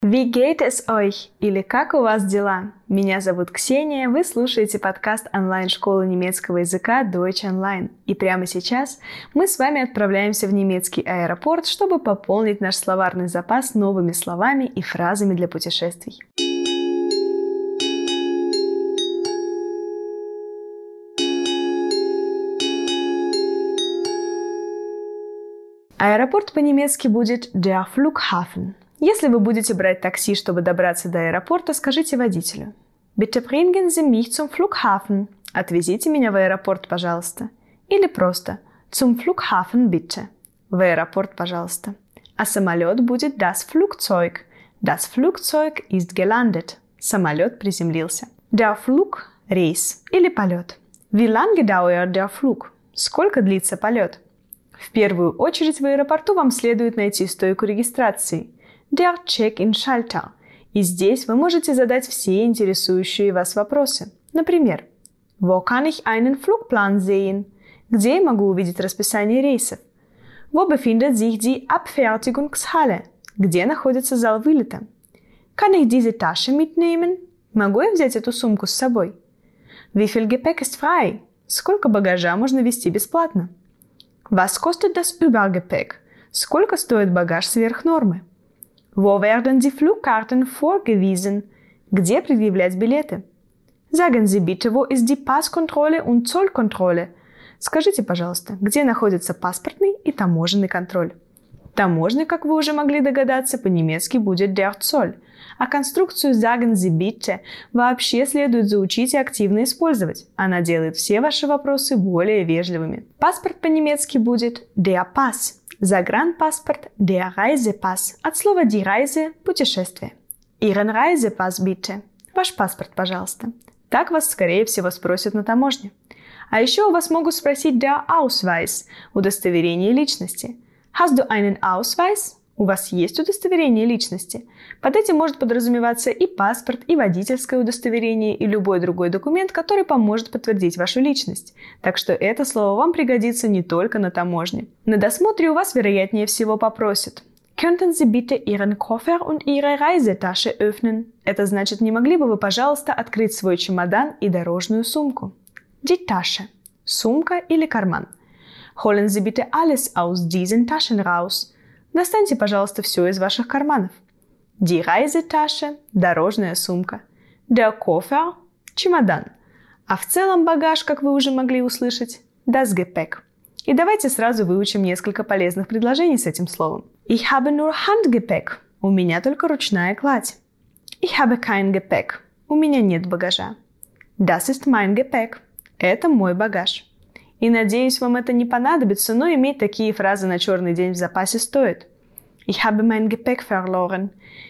Wie geht es euch? Или как у вас дела? Меня зовут Ксения, вы слушаете подкаст онлайн-школы немецкого языка Deutsch Online. И прямо сейчас мы с вами отправляемся в немецкий аэропорт, чтобы пополнить наш словарный запас новыми словами и фразами для путешествий. Аэропорт по-немецки будет der Flughafen. Если вы будете брать такси, чтобы добраться до аэропорта, скажите водителю: Bitte bringen Sie mich zum Flughafen. Отвезите меня в аэропорт, пожалуйста. Или просто Zum Flughafen bitte. В аэропорт, пожалуйста. А самолет будет das Flugzeug. Das Flugzeug ist gelandet. Самолет приземлился. Der Flug – рейс или полет. Wie lange dauert der Flug? Сколько длится полет? В первую очередь в аэропорту вам следует найти стойку регистрации. Der Check-in-Schalter. И здесь вы можете задать все интересующие вас вопросы. Например, Wo kann ich einen Flugplan sehen? Где я могу увидеть расписание рейсов? Wo befindet sich die Abfertigungshalle? Где находится зал вылета? Kann ich diese Tasche mitnehmen? Могу я взять эту сумку с собой? Wie viel Gepäck ist frei? Сколько багажа можно везти бесплатно? Was kostet das Übergepäck? Сколько стоит багаж сверх нормы? Wo werden die Flugkarten vorgewiesen? Где предъявлять билеты? Sagen Sie bitte, wo ist die Passkontrolle und Zollkontrolle? Скажите, пожалуйста, где находится паспортный и таможенный контроль? Таможня, как вы уже могли догадаться, по-немецки будет der Zoll, а конструкцию Sagen Sie bitte вообще следует заучить и активно использовать. Она делает все ваши вопросы более вежливыми. Паспорт по-немецки будет der Pass. Загранпаспорт – der Reisepass. От слова die Reise – путешествие. Ihren Reisepass bitte. Ваш паспорт, пожалуйста. Так вас, скорее всего, спросят на таможне. А еще у вас могут спросить der Ausweis – удостоверение личности. Hast du einen Ausweis? У вас есть удостоверение личности? Под этим может подразумеваться и паспорт, и водительское удостоверение, и любой другой документ, который поможет подтвердить вашу личность. Так что это слово вам пригодится не только на таможне. На досмотре у вас, вероятнее всего, попросят: Könnten Sie bitte Ihren Koffer und Ihre Reisetasche öffnen? Это значит, не могли бы вы, пожалуйста, открыть свой чемодан и дорожную сумку? Die Tasche – сумка или карман. Holen Sie bitte alles aus diesen Taschen raus. Достаньте, пожалуйста, все из ваших карманов. Die Reisetasche – дорожная сумка. Der Koffer – чемодан. А в целом багаж, как вы уже могли услышать, das Gepäck. И давайте сразу выучим несколько полезных предложений с этим словом. Ich habe nur Handgepäck. У меня только ручная кладь. Ich habe kein Gepäck. У меня нет багажа. Das ist mein Gepäck. Это мой багаж. И надеюсь, вам это не понадобится, но иметь такие фразы на черный день в запасе стоит. Ich habe mein Gepäck verloren.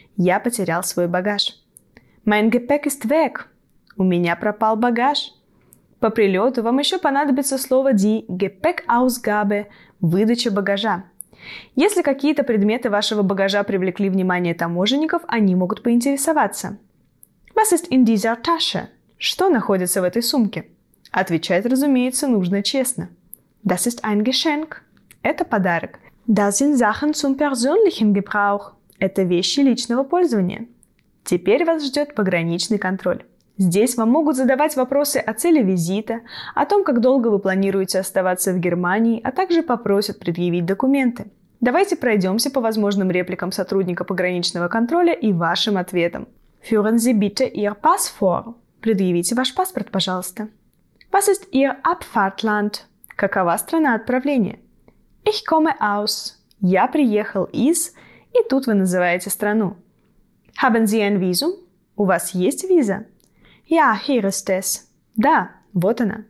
Я потерял свой багаж. Mein Gepäck ist weg. У меня пропал багаж. По прилету вам еще понадобится слово die Gepäckausgabe – выдача багажа. Если какие-то предметы вашего багажа привлекли внимание таможенников, они могут поинтересоваться. Was ist in dieser Tasche? Что находится в этой сумке? Отвечать, разумеется, нужно честно. Das ist ein Geschenk. Это подарок. Das sind Sachen zum persönlichen Gebrauch. Это вещи личного пользования. Теперь вас ждет пограничный контроль. Здесь вам могут задавать вопросы о цели визита, о том, как долго вы планируете оставаться в Германии, а также попросят предъявить документы. Давайте пройдемся по возможным репликам сотрудника пограничного контроля и вашим ответам. Führen Sie bitte Ihr Pass vor. Предъявите ваш паспорт, пожалуйста. Was ist Ihr Abfahrtland? Какова страна отправления? Ich komme aus. Я приехал из, и тут вы называете страну. Haben Sie ein Visum? У вас есть виза? Ja, hier ist es. Да, вот она.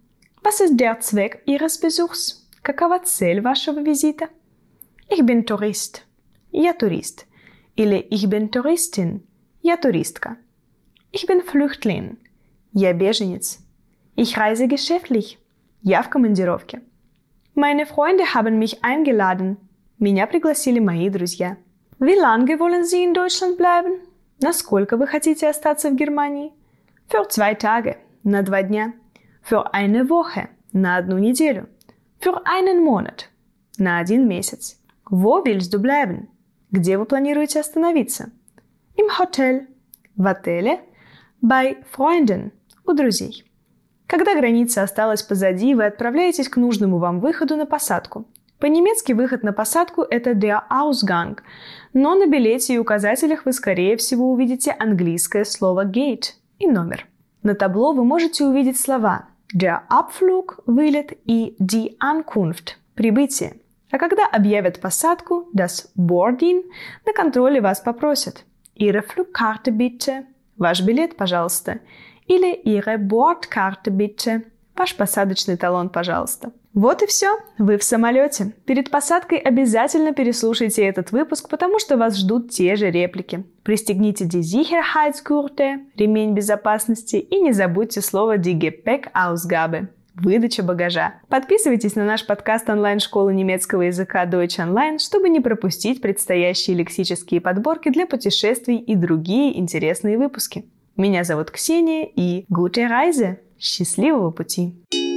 Was ist der Zweck Ihres Besuchs? Какова цель вашего визита? Ich bin Tourist. Я турист. Или ich bin Touristin. Я туристка. Ich bin Flüchtling. Я беженец. Ich reise geschäftlich. Я в командировке. Meine Freunde haben mich eingeladen. Меня пригласили мои друзья. Wie lange wollen Sie in Deutschland bleiben? Насколько вы хотите остаться в Германии? Für 2 Tage. На 2 дня. Für eine Woche. На 1 неделю. Für einen Monat. На 1 месяц. Wo willst du bleiben? Где вы планируете остановиться? Im Hotel – в отеле. Bei Freunden – у друзей. Когда граница осталась позади, вы отправляетесь к нужному вам выходу на посадку. По-немецки выход на посадку – это der Ausgang, но на билете и указателях вы, скорее всего, увидите английское слово gate и номер. На табло вы можете увидеть слова der Abflug – вылет и die Ankunft – прибытие. А когда объявят посадку, das Boarding, на контроле вас попросят Ihre Flugkarte bitte – ваш билет, пожалуйста, или Ihre Bordkarte bitte – ваш посадочный талон, пожалуйста. Вот и все, вы в самолете. Перед посадкой обязательно переслушайте этот выпуск, потому что вас ждут те же реплики. Пристегните die Sicherheitsgurte – ремень безопасности, и не забудьте слово die Gepäckausgabe – выдача багажа. Подписывайтесь на наш подкаст онлайн-школы немецкого языка Deutsch Online, чтобы не пропустить предстоящие лексические подборки для путешествий и другие интересные выпуски. Меня зовут Ксения и Gute Reise! Счастливого пути!